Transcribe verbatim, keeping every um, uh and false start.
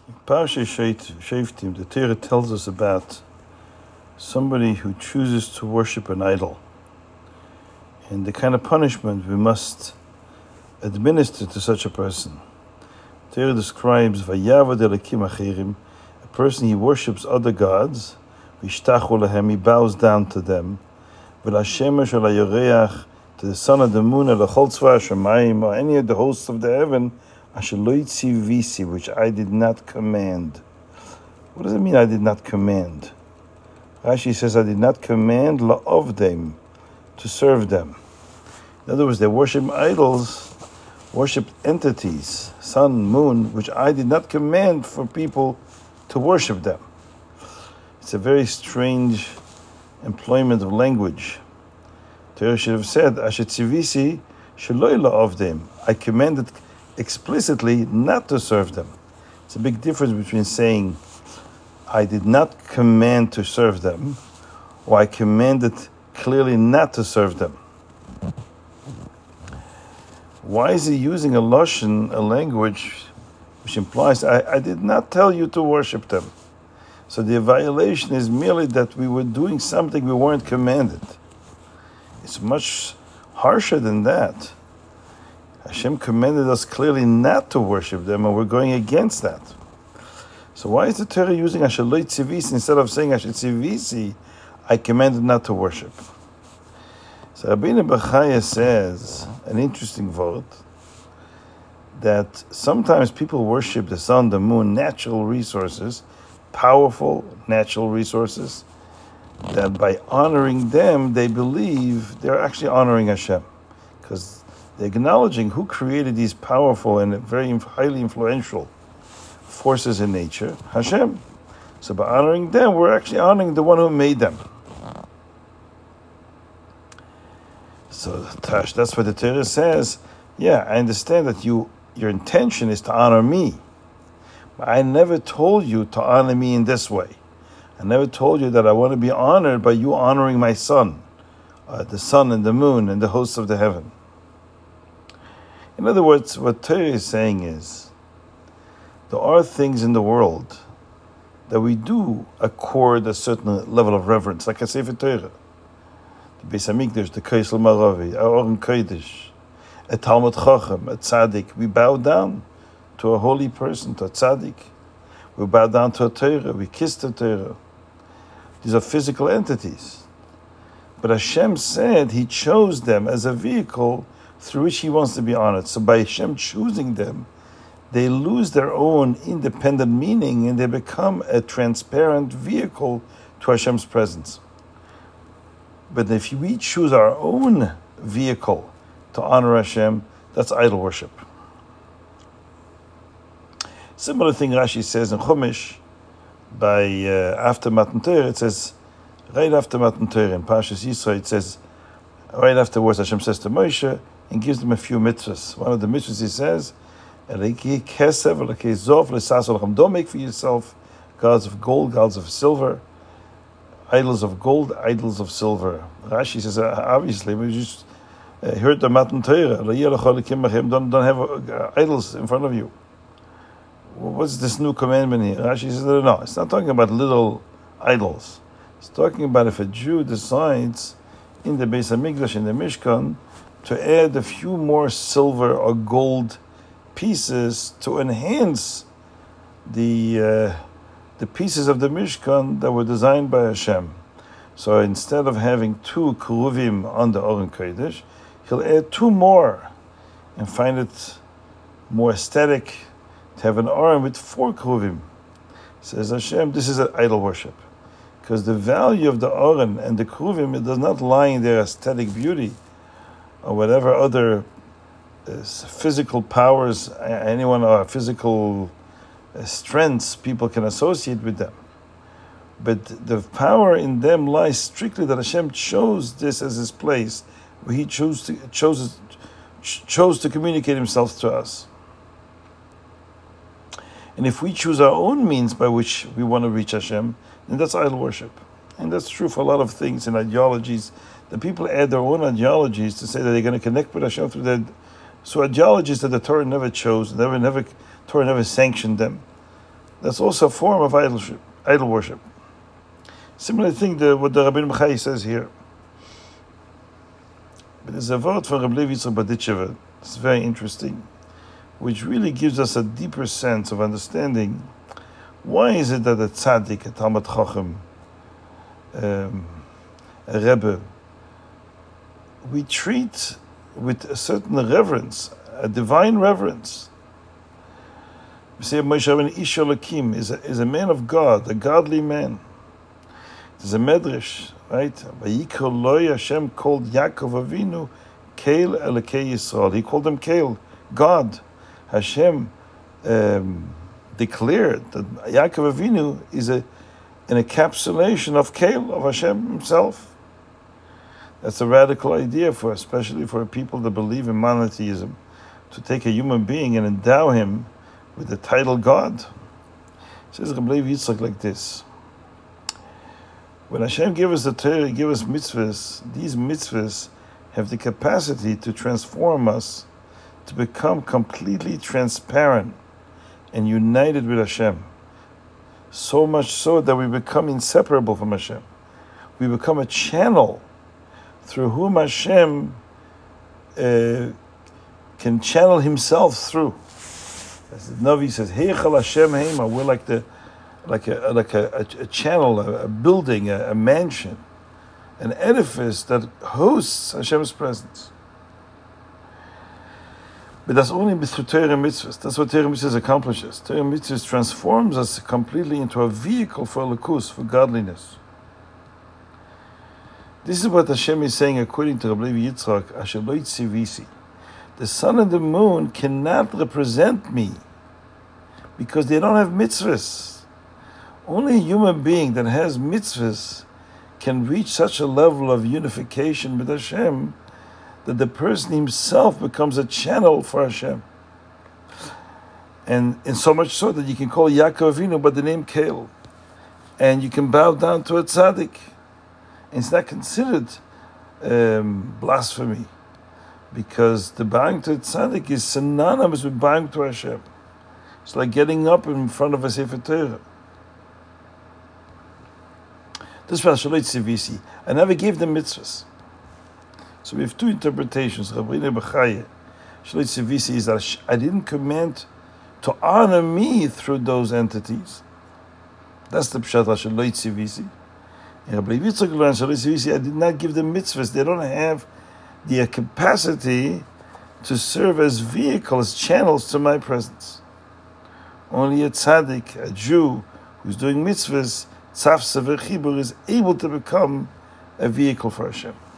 Parashat Shoftim, the Torah tells us about somebody who chooses to worship an idol, and the kind of punishment we must administer to such a person. The Torah describes Vayavad Elokim Acherim, a person he worships other gods, Vishtachu Lahem, he bows down to them, V'Lashemesh Olayoreach, to the sun of the moon, or the Chol Tzva Hashemayim, or any of the hosts of the heaven, Asher lo yitzivisi, which I did not command. What does it mean I did not command? Rashi says I did not command la'ovdem, to serve them. In other words, they worship idols, worship entities, sun, moon, which I did not command for people to worship them. It's a very strange employment of language. Torah should have said, Asher tzivisi sheloi la'ovdem, I commanded explicitly not to serve them. It's a big difference between saying, I did not command to serve them, or I commanded clearly not to serve them. Why is he using a lashon, a language, which implies, I, I did not tell you to worship them? So the violation is merely that we were doing something we weren't commanded. It's much harsher than that. Hashem commanded us clearly not to worship them, and we're going against that. So why is the Torah using Asher lo yitzivisi instead of saying Asher tzivisi, I commanded not to worship? So Rabbeinu Bachaya says, an interesting word, that sometimes people worship the sun, the moon, natural resources, powerful natural resources, that by honoring them, they believe they're actually honoring Hashem. Because they're acknowledging who created these powerful and very highly influential forces in nature, Hashem. So by honoring them, we're actually honoring the one who made them. So Tash, that's what the Torah says. Yeah, I understand that you your intention is to honor me. But I never told you to honor me in this way. I never told you that I want to be honored by you honoring my son, uh, the sun and the moon and the hosts of the heaven. In other words, what Torah is saying is, there are things in the world that we do accord a certain level of reverence, like I say for Torah. The Beis HaMikdash, the Kaisel Maravi, our Oren Kodesh, a Talmud Chacham, a Tzaddik. We bow down to a holy person, to a Tzaddik. We bow down to a Torah, we kiss the Torah. These are physical entities. But Hashem said He chose them as a vehicle through which He wants to be honored. So by Hashem choosing them, they lose their own independent meaning and they become a transparent vehicle to Hashem's presence. But if we choose our own vehicle to honor Hashem, that's idol worship. Similar thing Rashi says in Chumash, by uh, after Matan Torah, it says, right after Matan Torah, in Parshas Yisro, it says, right afterwards Hashem says to Moshe, and gives them a few mitzvahs. One of the mitzvahs He says, don't make for yourself gods of gold, gods of silver, idols of gold, idols of silver. Rashi says, obviously, we just uh, heard the Matan Torah, don't, don't have uh, idols in front of you. What's this new commandment here? Rashi says, no, no, it's not talking about little idols. It's talking about if a Jew decides in the Beis HaMikdash, in the Mishkan, to add a few more silver or gold pieces to enhance the uh, the pieces of the Mishkan that were designed by Hashem. So instead of having two keruvim on the Oren Kodesh, he'll add two more and find it more aesthetic to have an Oren with four keruvim. Says Hashem, this is an idol worship. Because the value of the Oren and the keruvim, it does not lie in their aesthetic beauty or whatever other uh, physical powers, anyone or physical uh, strengths people can associate with them. But the power in them lies strictly that Hashem chose this as His place, where He chose to, chose, chose to communicate Himself to us. And if we choose our own means by which we want to reach Hashem, then that's idol worship. And that's true for a lot of things in ideologies. The people add their own ideologies to say that they're going to connect with Hashem through their so ideologies that the Torah never chose, never, never, Torah never sanctioned them. That's also a form of idol worship. Idol worship. Similar thing to what the Rabbeinu Bachai says here. But there's a word from Rabbi Levi Yitzchak Berditchever. It's very interesting, which really gives us a deeper sense of understanding why is it that a tzaddik, a Talmud Chacham, um, a Rebbe, we treat with a certain reverence, a divine reverence. We say Moshe Rabbeinu Ish Elokim is a, is a man of God, a godly man. There's a medrash, right? Vayikol Loi Hashem called Yaakov Avinu Keil Elokei Yisrael. He called him Keil, God. Hashem um, declared that Yaakov Avinu is a, an encapsulation of Keil, of Hashem himself. That's a radical idea for, especially for people that believe in monotheism, to take a human being and endow him with the title God. It says Rabbi Levi Yitzchak like this. When Hashem gave us the Torah, He gave us mitzvahs. These mitzvahs have the capacity to transform us, to become completely transparent and united with Hashem. So much so that we become inseparable from Hashem. We become a channel through whom Hashem uh, can channel Himself through. As the Navi says, Heichal Hashem Heima, we're like the like a like a, a, a channel, a, a building, a, a mansion, an edifice that hosts Hashem's presence. But that's only through Torah and mitzvahs. That's what Torah and mitzvahs accomplishes. Torah and mitzvahs transforms us completely into a vehicle for elokus, for godliness. This is what Hashem is saying according to Rabbi Levi Yitzchak, Asher lo yitzivisi. The sun and the moon cannot represent me because they don't have mitzvahs. Only a human being that has mitzvahs can reach such a level of unification with Hashem that the person himself becomes a channel for Hashem. And, and so much so that you can call Yaakov Avinu by the name Keil. And you can bow down to a tzaddik. And it's not considered um, blasphemy, because the bowing to a tzaddik is synonymous with bowing to Hashem. It's like getting up in front of a Sefer Torah. This was Shaloi Tzivisi. I never gave them mitzvahs. So we have two interpretations. Rabbeinu Bachai, Shaloi Tzivisi is that I didn't command to honor me through those entities. That's the Pshat Shaloi Tzivisi. And Rabbi Yitzchak learned Shaloi Tzivisi, I did not give them mitzvahs. They don't have the capacity to serve as vehicles, channels to my presence. Only a tzaddik, a Jew, who's doing mitzvahs, tzaf sever chibur, is able to become a vehicle for Hashem.